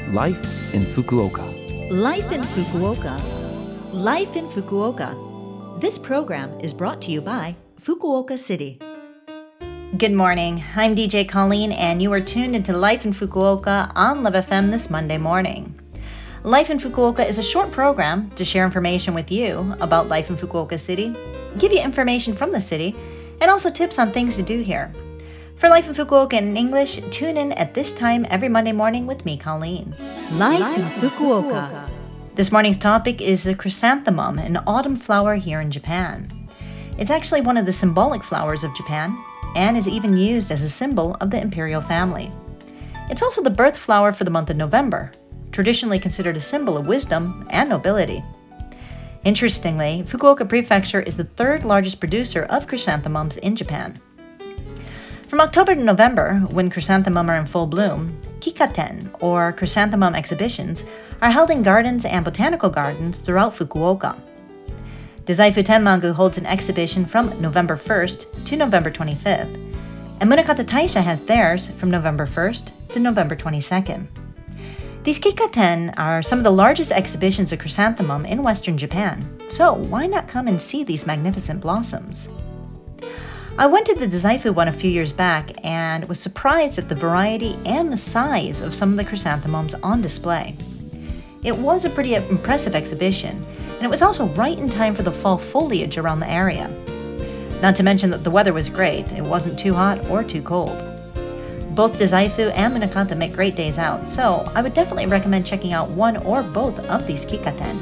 Life in Fukuoka. Life in Fukuoka. Life in Fukuoka. This program is brought to you by Fukuoka City. Good morning. I'm DJ Colleen, and you are tuned into Life in Fukuoka on Love FM this Monday morning. Life in Fukuoka is a short program to share information with you about life in Fukuoka City, give you information from the city, and also tips on things to do here. For Life in Fukuoka in English, tune in at this time every Monday morning with me, Colleen. Life in Fukuoka. This morning's topic is the chrysanthemum, an autumn flower here in Japan. It's actually one of the symbolic flowers of Japan and is even used as a symbol of the imperial family. It's also the birth flower for the month of November, traditionally considered a symbol of wisdom and nobility. Interestingly, Fukuoka Prefecture is the third largest producer of chrysanthemums in Japan. From October to November, when chrysanthemum are in full bloom, kikaten, or chrysanthemum exhibitions, are held in gardens and botanical gardens throughout Fukuoka. Dazaifu Tenmangu holds an exhibition from November 1st to November 25th, and Munakata Taisha has theirs from November 1st to November 22nd. These kikaten are some of the largest exhibitions of chrysanthemum in Western Japan, so why not come and see these magnificent blossoms? I went to the Dazaifu one a few years back and was surprised at the variety and the size of some of the chrysanthemums on display. It was a pretty impressive exhibition, and it was also right in time for the fall foliage around the area. Not to mention that the weather was great. It wasn't too hot or too cold. Both Dazaifu and Munakata make great days out, so I would definitely recommend checking out one or both of these kikaten.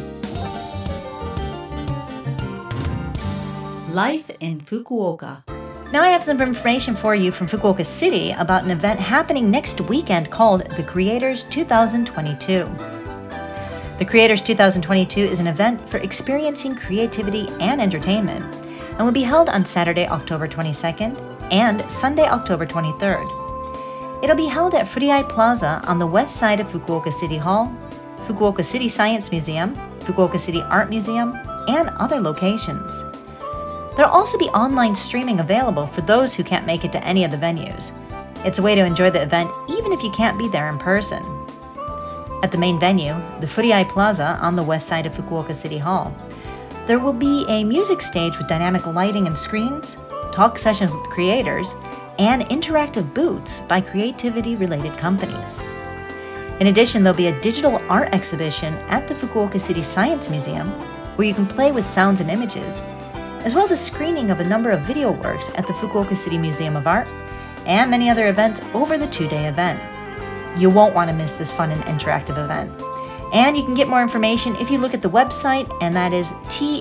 Life in Fukuoka. Now I have some information for you from Fukuoka City about an event happening next weekend called the Creators 2022. The Creators 2022 is an event for experiencing creativity and entertainment and will be held on Saturday, October 22nd and Sunday, October 23rd. It'll be held at Furiai Plaza on the west side of Fukuoka City Hall, Fukuoka City Science Museum, Fukuoka City Art Museum, and other locations. There'll also be online streaming available for those who can't make it to any of the venues. It's a way to enjoy the event even if you can't be there in person. At the main venue, the Furiai Plaza on the west side of Fukuoka City Hall, there will be a music stage with dynamic lighting and screens, talk sessions with creators, and interactive booths by creativity-related companies. In addition, there'll be a digital art exhibition at the Fukuoka City Science Museum where you can play with sounds and images, as well as a screening of a number of video works at the Fukuoka City Museum of Art, and many other events over the two-day event. You won't want to miss this fun and interactive event. And you can get more information if you look at the website, and that is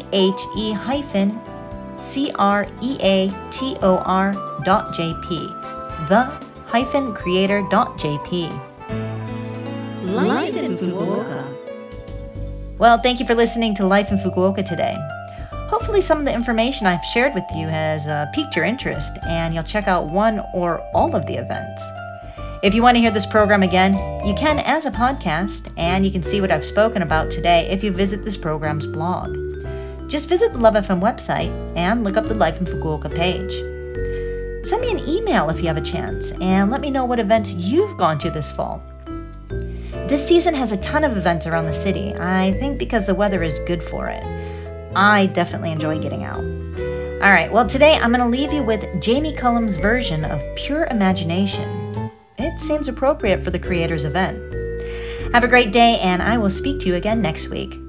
the-creator.jp, the-creator.jp. Life in Fukuoka. Well, thank you for listening to Life in Fukuoka today. Hopefully some of the information I've shared with you has piqued your interest and you'll check out one or all of the events. If you want to hear this program again, you can as a podcast, and you can see what I've spoken about today if you visit this program's blog. Just visit the Love FM website and look up the Life in Fukuoka page. Send me an email if you have a chance and let me know what events you've gone to this fall. This season has a ton of events around the city, I think because the weather is good for it. I definitely enjoy getting out. All right, well, today I'm going to leave you with Jamie Cullum's version of Pure Imagination. It seems appropriate for the Creators event. Have a great day, and I will speak to you again next week.